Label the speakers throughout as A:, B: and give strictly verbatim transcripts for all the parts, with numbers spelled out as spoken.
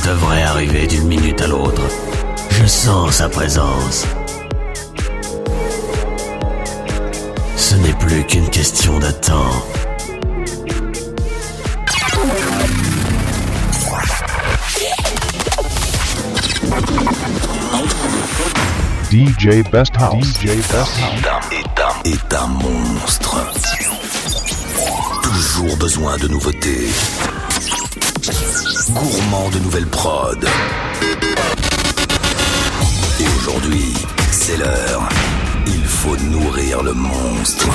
A: devrait arriver d'une minute à l'autre. Je sens sa présence. Ce n'est plus qu'une question de temps.
B: D J Best House. D J Best House.
C: Est un, est un monstre. Toujours besoin de nouveautés. Gourmand de nouvelles prods. Et aujourd'hui, c'est l'heure. Il faut nourrir le monstre.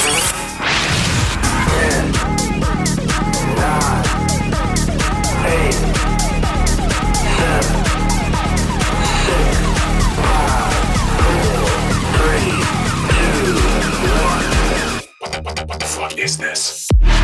C: ten, nine, eight, seven, six, five, four, three, two, one. What the fuck is this?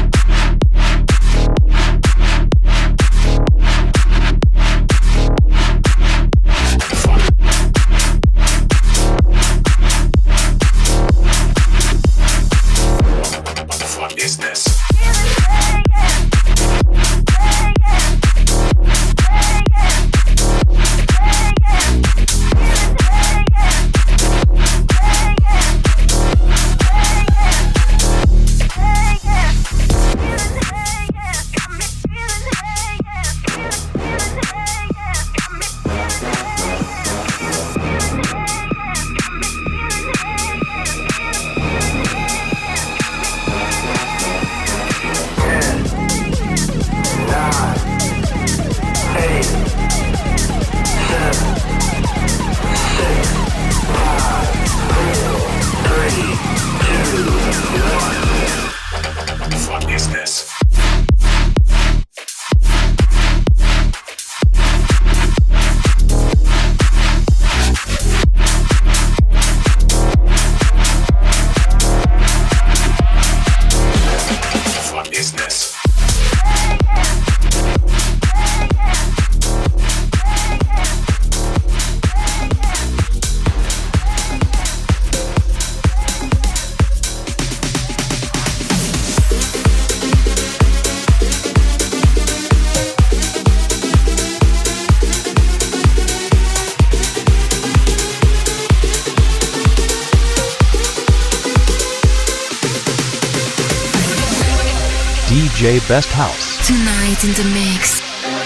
B: D J Best House.
D: Tonight in the mix.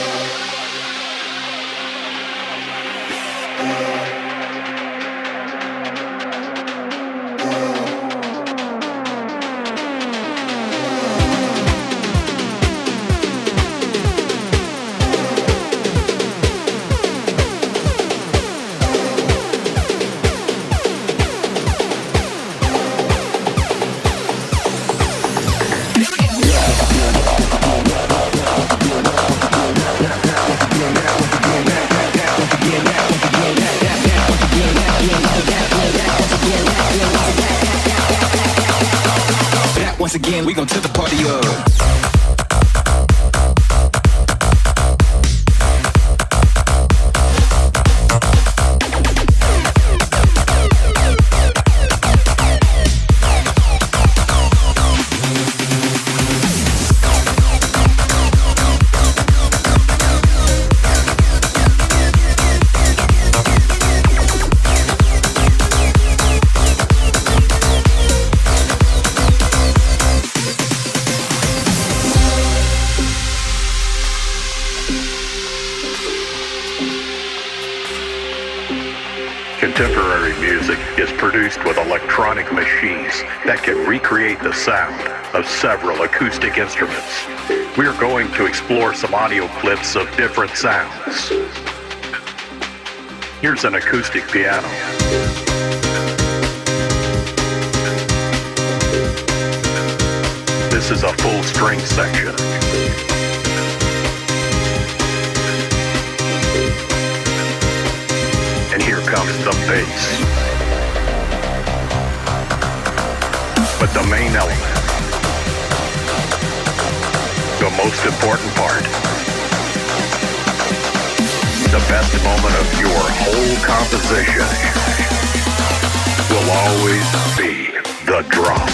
E: Once again, we gon' tip the party up.
F: Contemporary music is produced with electronic machines that can recreate the sound of several acoustic instruments. We are going to explore some audio clips of different sounds. Here's an acoustic piano. This is a full string section. And here comes the bass. But the main element, the most important part, the best moment of your whole composition will always be the drop.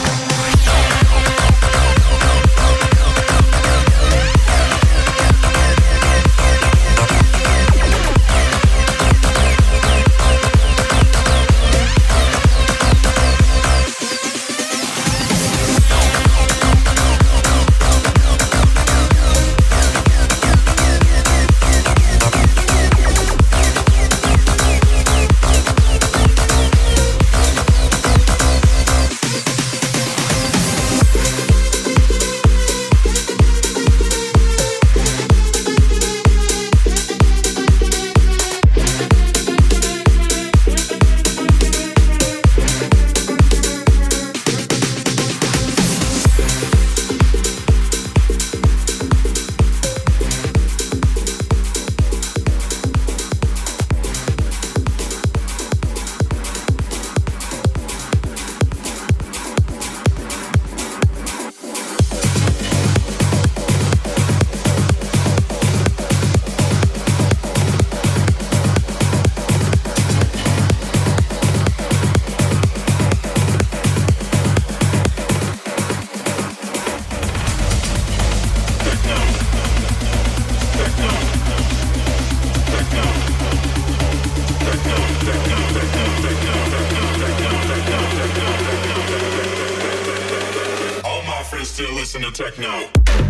D: listen to techno.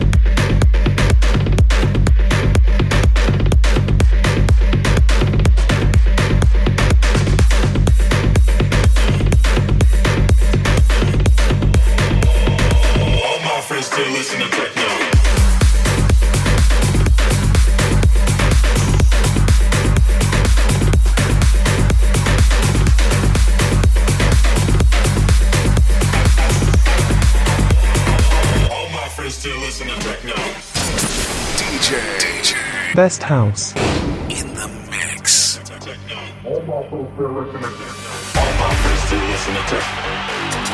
D: Still listen to techno. All my friends still listen to techno.
C: D J, D J
G: Best House
C: in the mix.
D: All my friends still listen to techno. All my friends still listen to techno.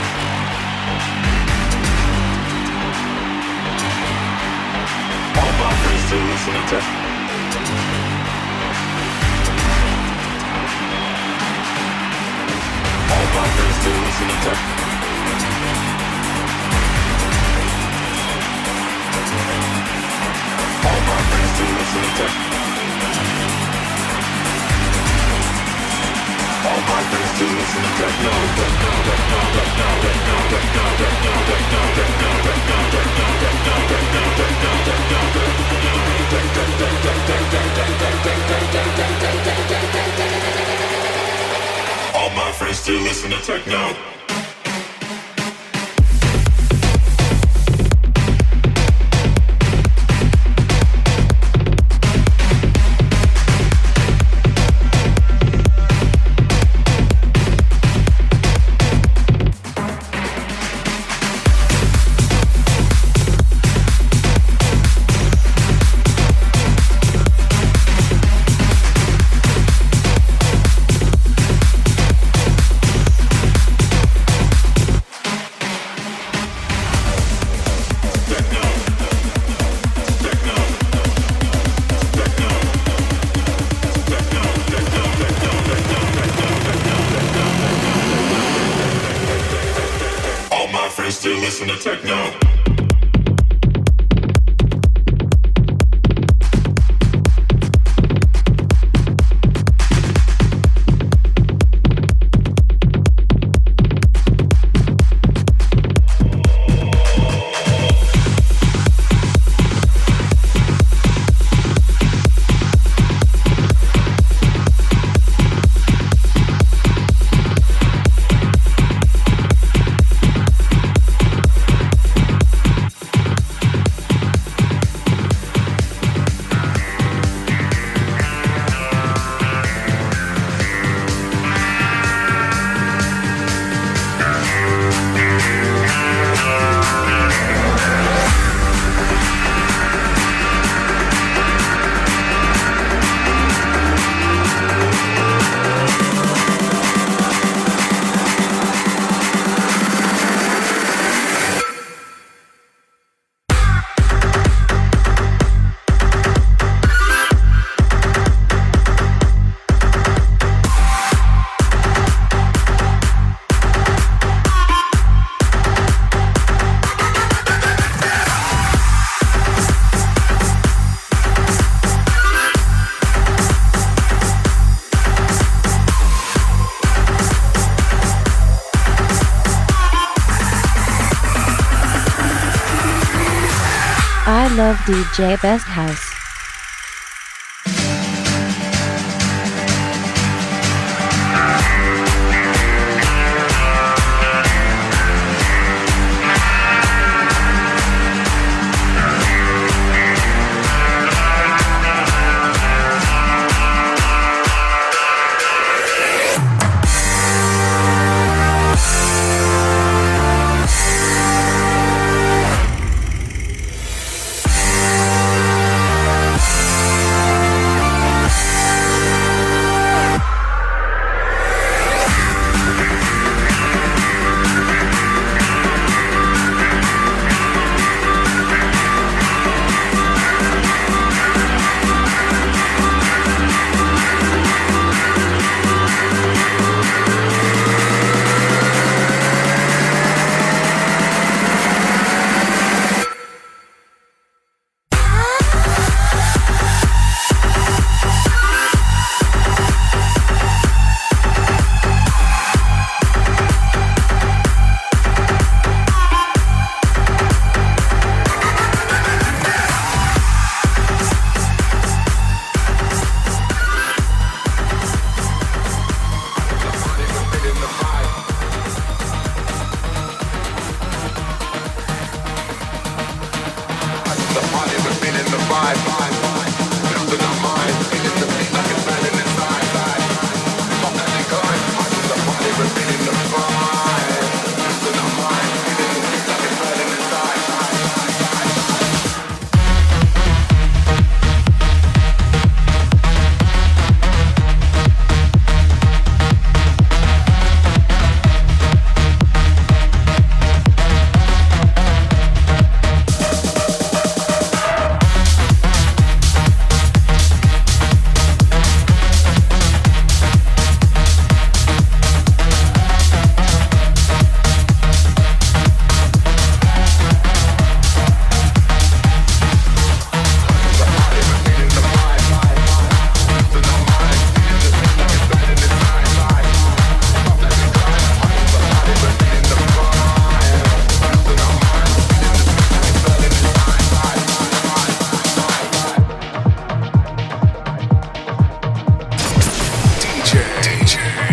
D: All my friends still listen to techno. All my friends still listen to techno. All my friends still listen to techno. All my friends still listen to techno. Techno, techno, techno, techno, techno, techno, techno, techno, techno, techno, techno, techno, techno, techno. All my friends still listen to techno. Still listen to techno.
H: I love D J Best House.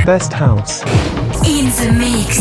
G: Best House.
I: In the mix.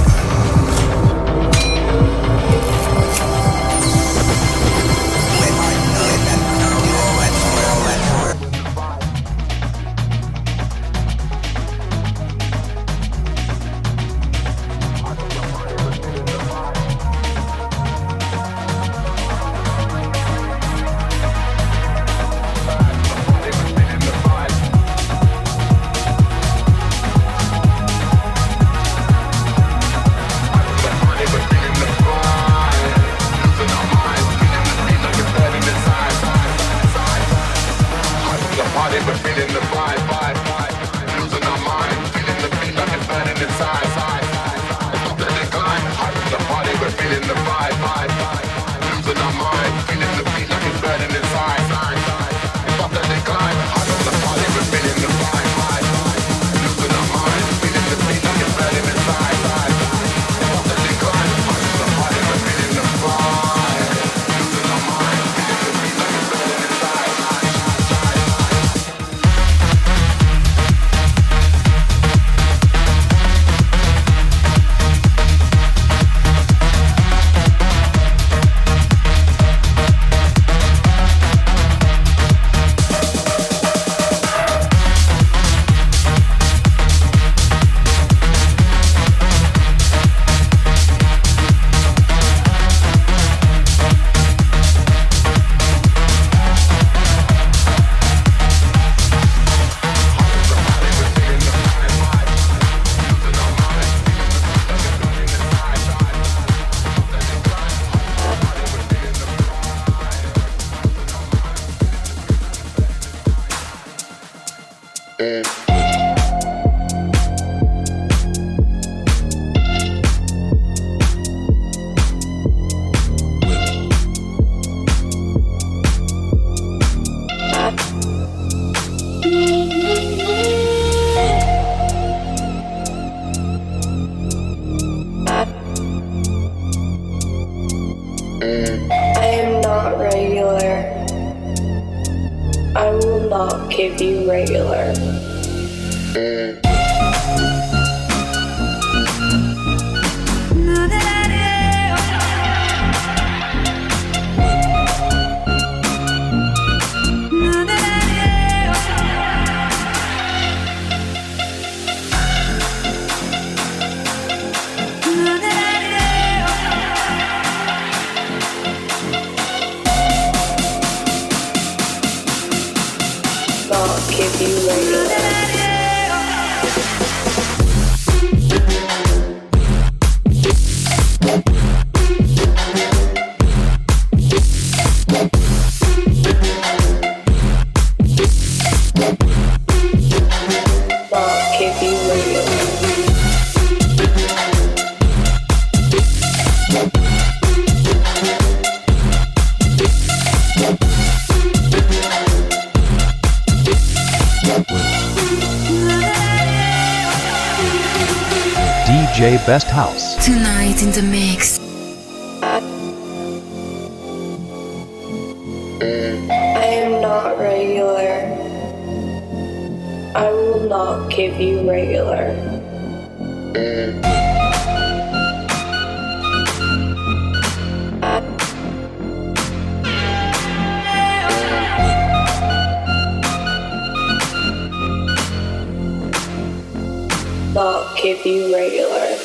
B: D J Best House.
I: Tonight in the mix.
J: I am not regular. I will not give you regular. Not give you regular.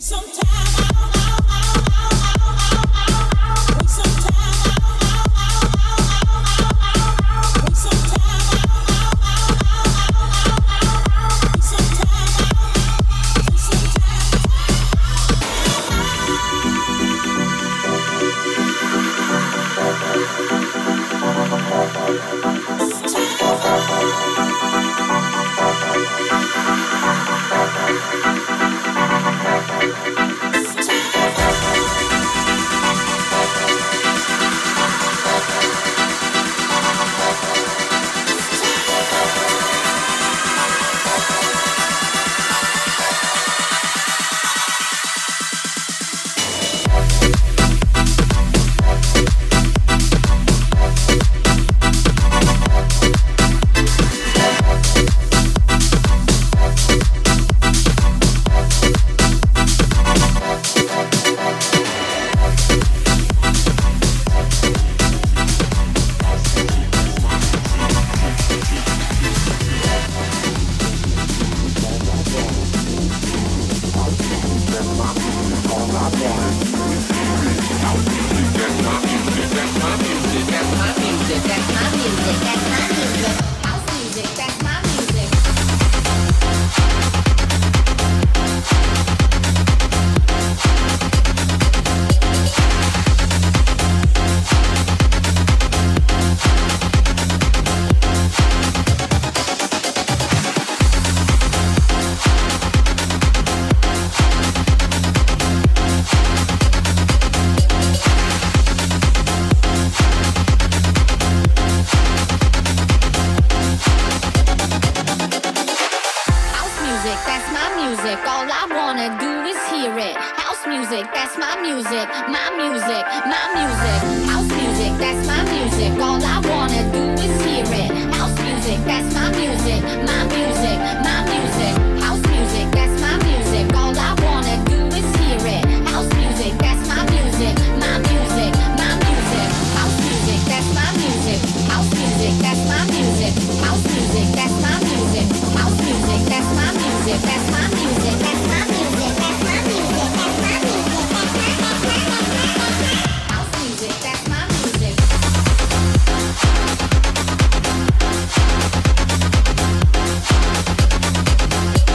G: Music,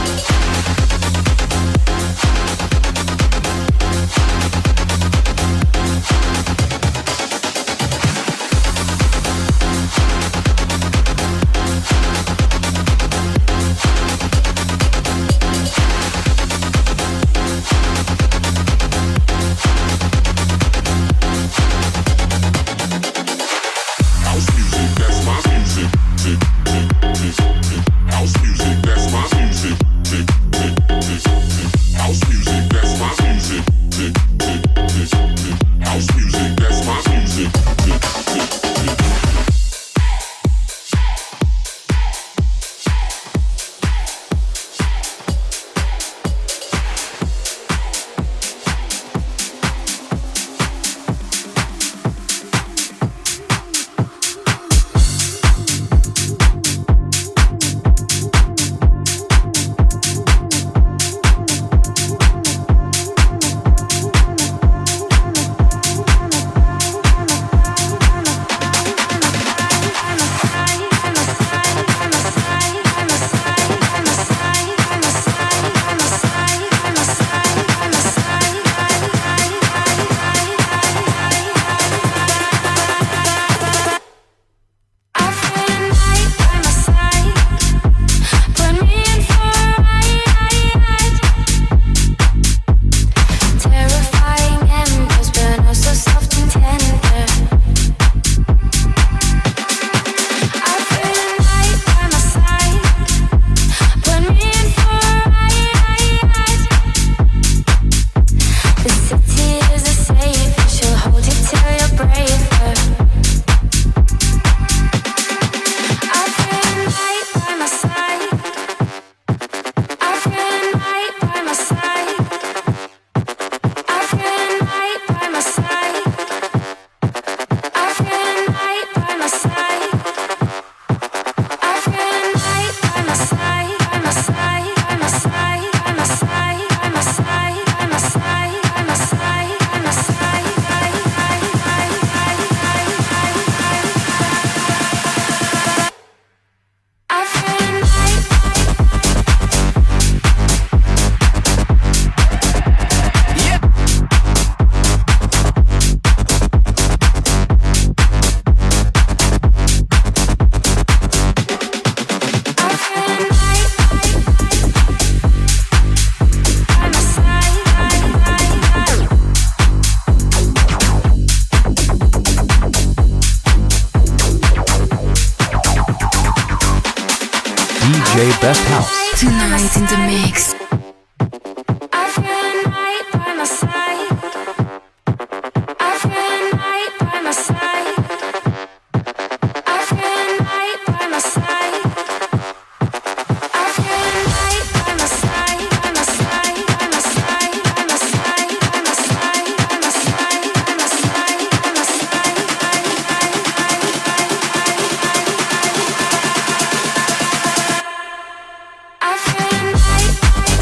I: Tonight in the mix.
G: I feel a night by my side. I feel a night by my side. I feel a night by my side. I feel a night by my side, by my side, by my side, by my side, by my side, by my side, by my side, by my side. I feel a night.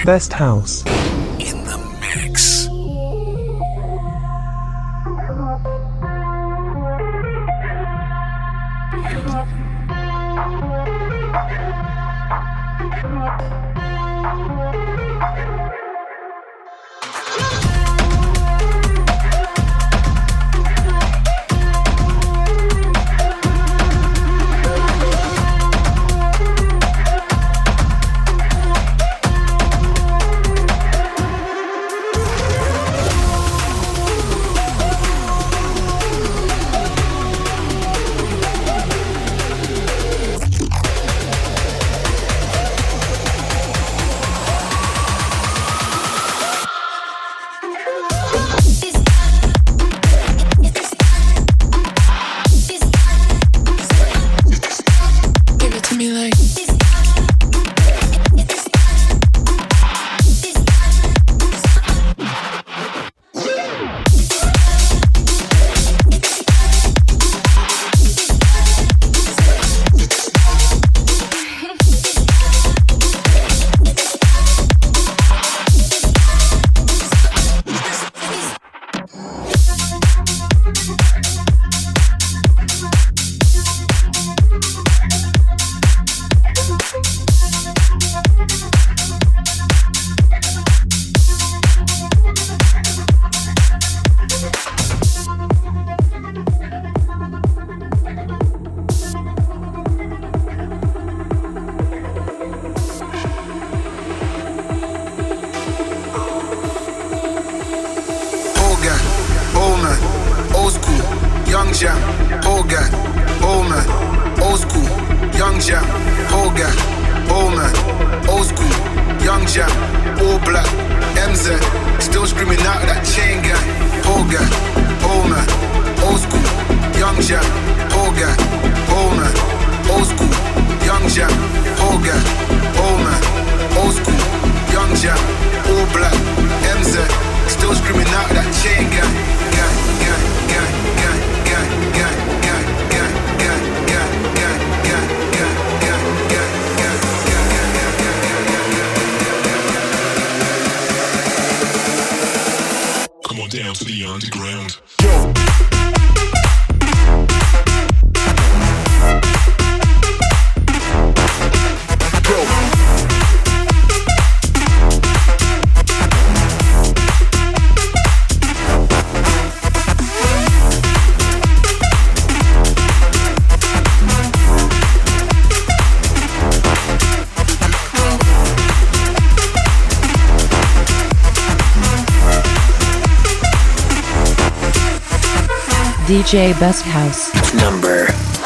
K: Best House.
C: In the mix.
H: D J Best House.
C: Number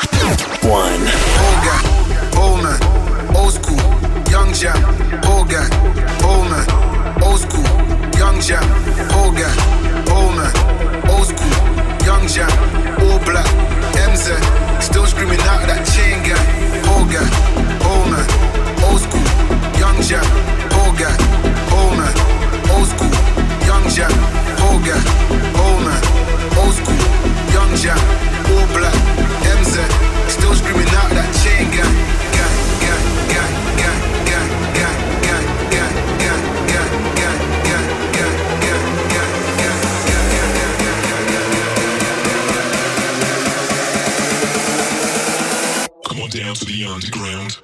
C: one.
E: Old guy, old man, old school, young jam. Old guy, old man, old school, young jam. Old guy, old man, old school, young jam. All black, M Z, still screaming out of that chain gang. Old guy, old man, old school, young jam. Old guy, old man, old school, young jam. Old guy, old man, old school. Young jam, all black, M Z, still screaming out that chain gang, gang, gang, gang, gang, gang, gang, gang, gang, gang, gang, gang, gang, gang, gang, gang, gang.
D: Come on down to the underground.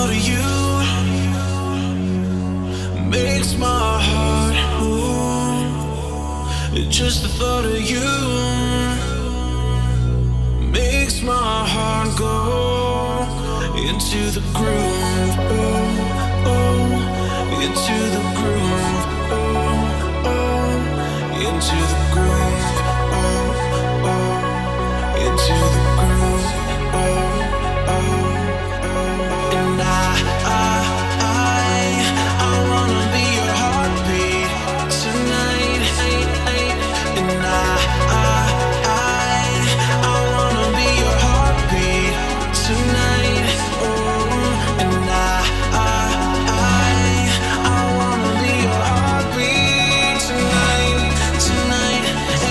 K: thought of you makes my heart move. Just the thought of you makes my heart go into the groove. Oh, oh, into the groove. Oh, oh, into the groove. Oh, oh, into the groove. Oh, oh, oh. And I, I, I, I wanna be your heartbeat tonight. And I, I, I, I wanna be your heartbeat tonight. Oh, and I, I, I, I wanna be your heartbeat tonight, tonight.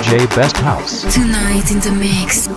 B: J Best House.
I: Tonight in the mix.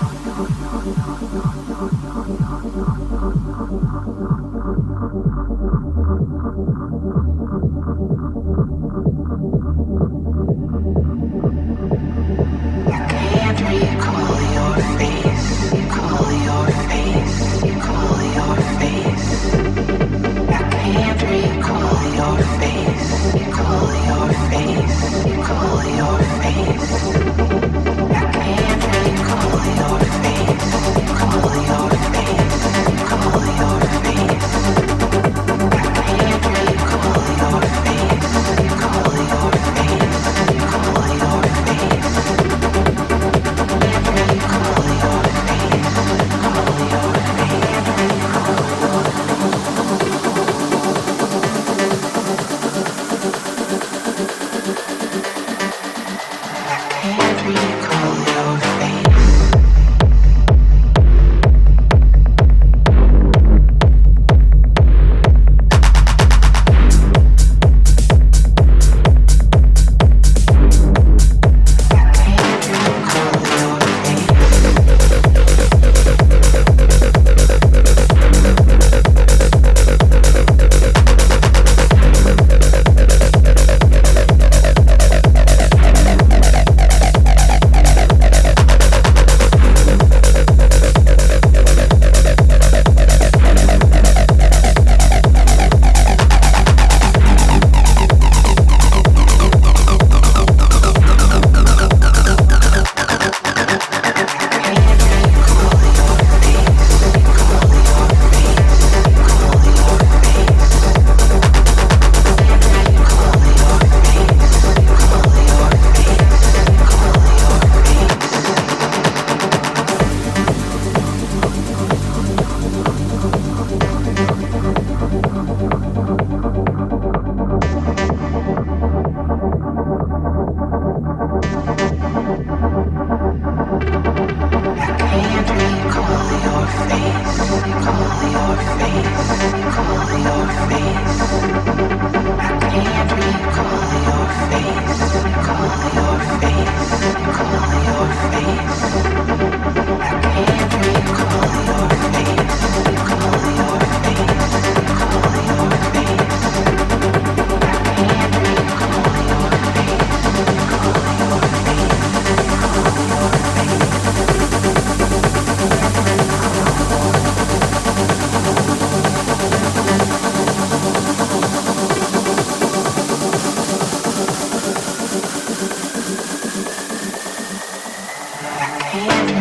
G: Can't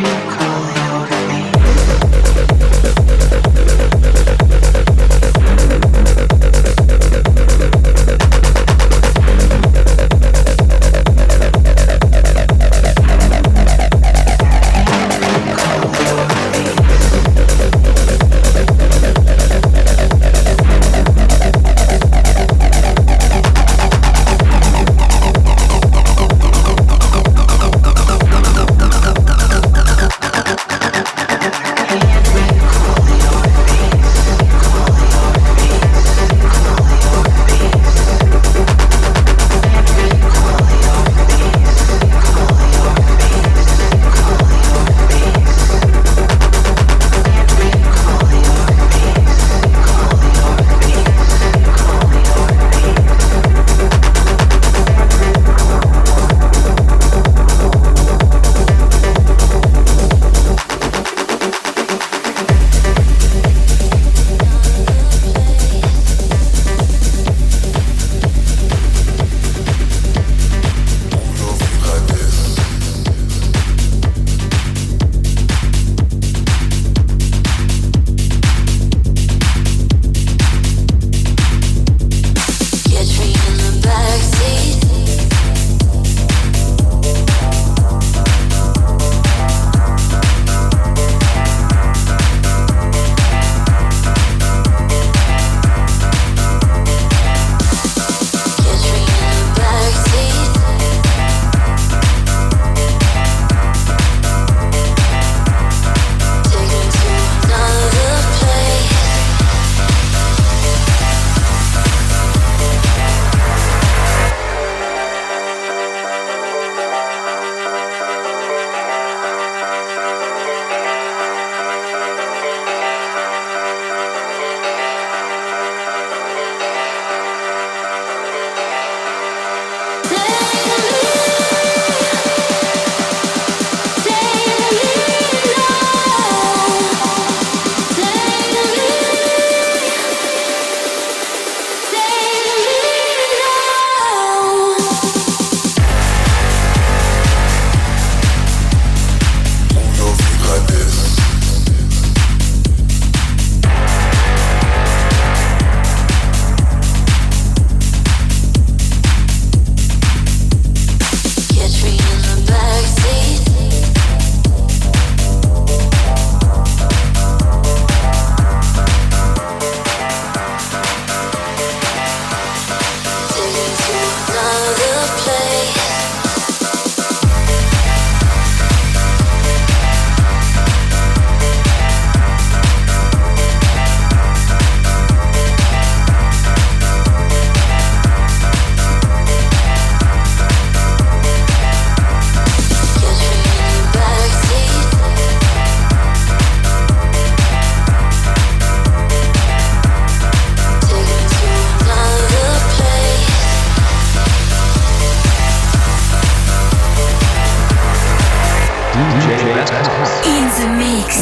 I: the mix.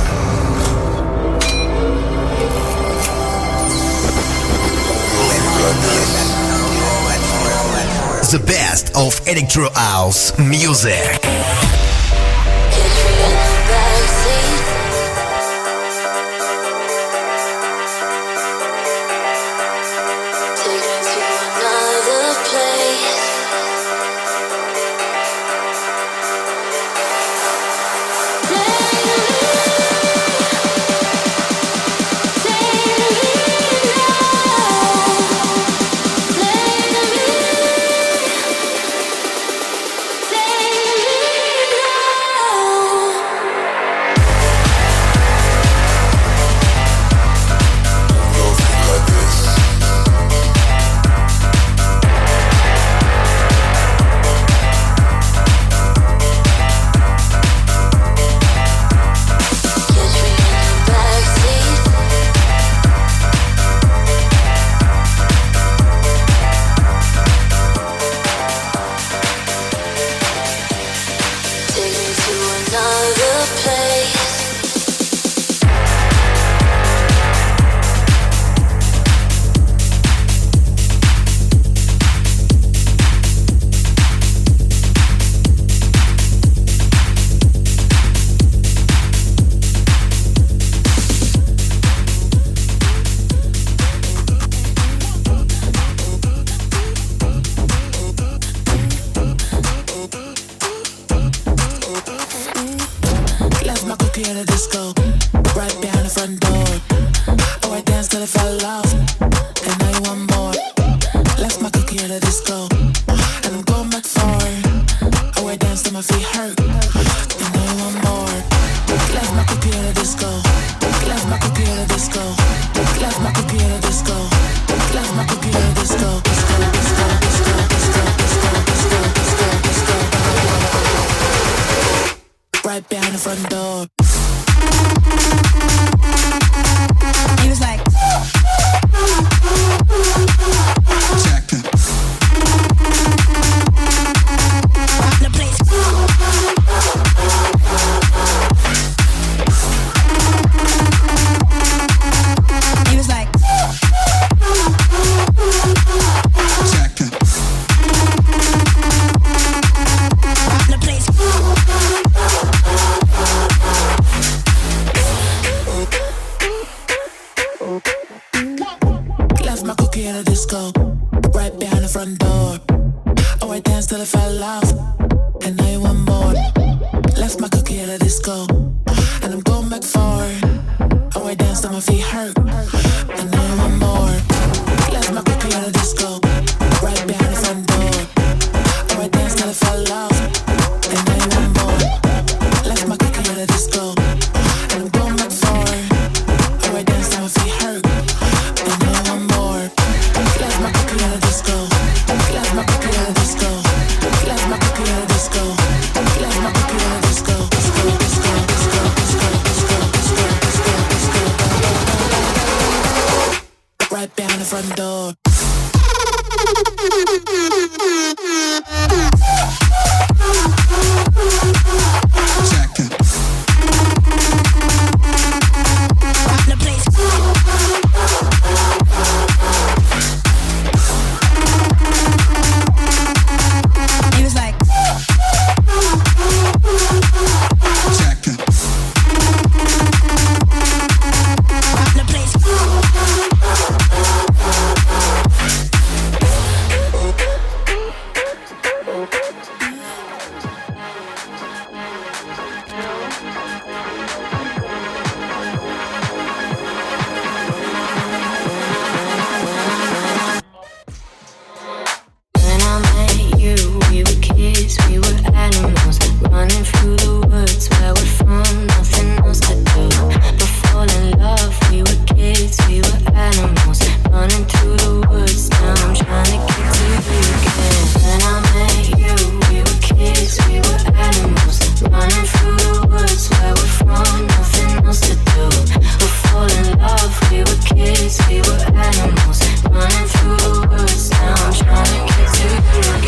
C: The best of electro house music.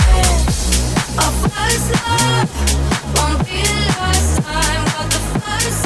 G: First love won't be the last time. Got the first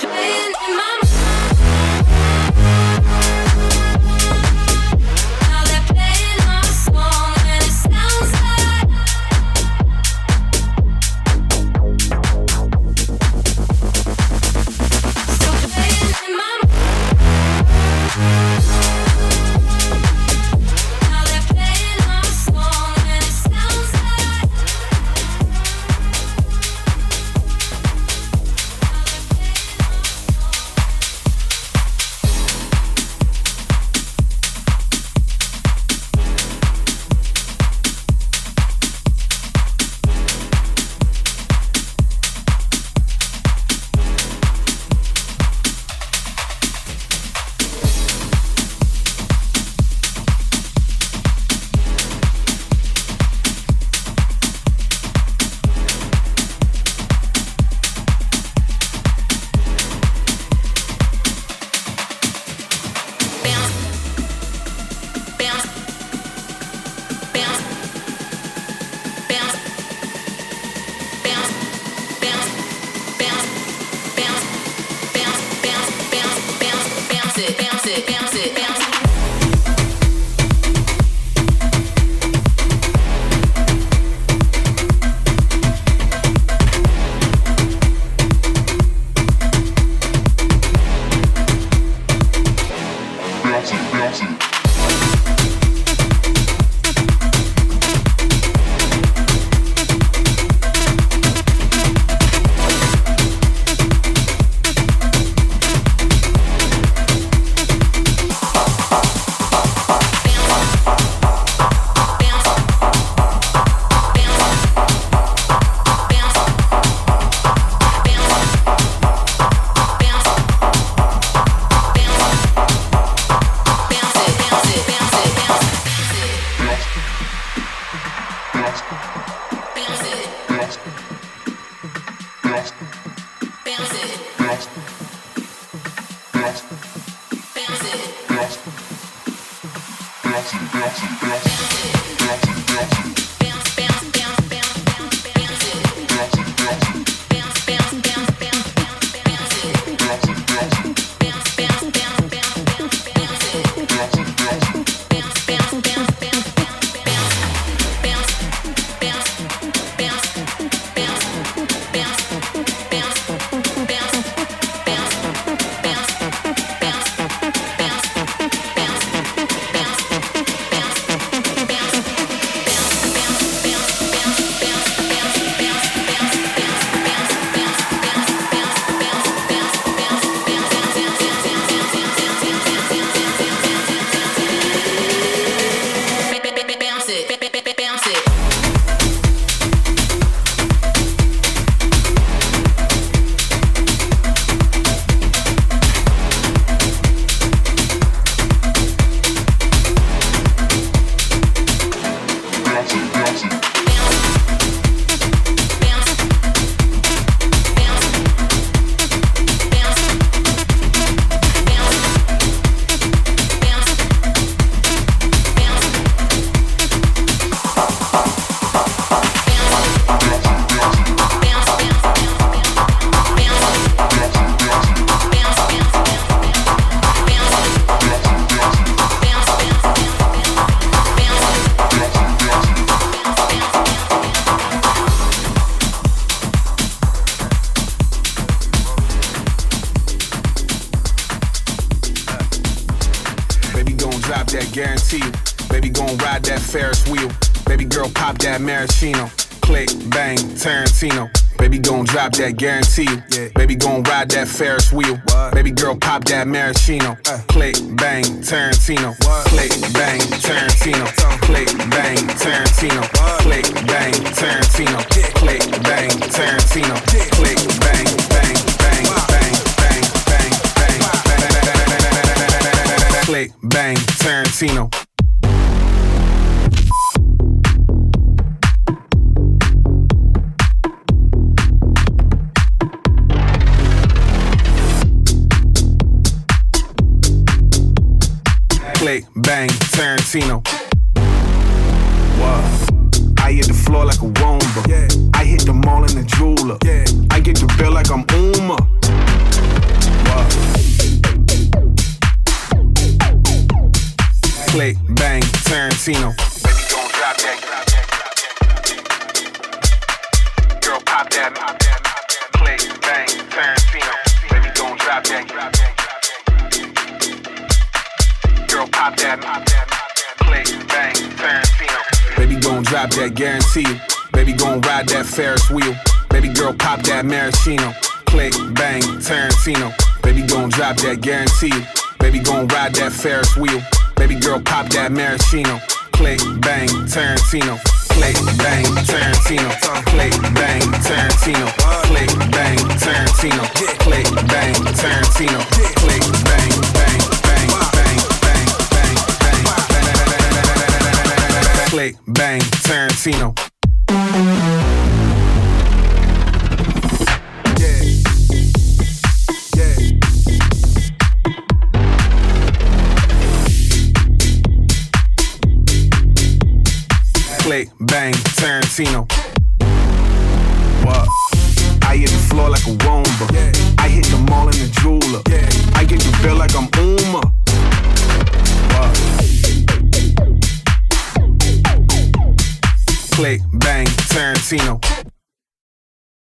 L: Guarantee you, baby gon' ride that Ferris wheel. Baby girl pop that maraschino. Click, bang, Tarantino. Baby gon' drop that, guarantee you. Yeah. Baby gon' ride that Ferris wheel. What? Baby girl pop that maraschino. Uh. Click, bang, Tarantino. What? Click, bang, Tarantino. Click, bang, Tarantino. What? Click, bang, Tarantino. Yeah. Click, bang, Tarantino. Yeah. Click, bang, bang, bang, wow. bang, bang, bang, bang, wow. bang, bang, bang, bang, bang, bang, bang, click, bang, Tarantino. Click, bang, Tarantino. Wow. I hit the floor like a Roomba. Yeah. I hit the mall in the jeweler. Yeah. I get the bill like I'm Uma. Click, bang, Tarantino. Baby, gon' drop that. Girl, pop that. Click, bang, Tarantino. Baby, gon' drop that. Girl, pop that. Click, bang, Tarantino. Baby, gon' drop that, guarantee you. Baby, gon' ride that Ferris wheel. Baby girl, pop that maraschino. Click, bang, Tarantino. Baby gon' drop that, guarantee you. Baby gon' ride that Ferris wheel. Baby girl, pop that maraschino. Click, bang, Tarantino. Click, bang, Tarantino. Click, bang, Tarantino. Click, bang, Tarantino. Click, bang, Tarantino. Click, bang, bang, bang, bang, bang, bang, bang. Click, bang, Tarantino. Click, bang, Tarantino. What? I hit the floor like a Roomba. Yeah. I hit the mall in the jeweler. Yeah. I get the bill like I'm Uma. What? Click, bang, Tarantino.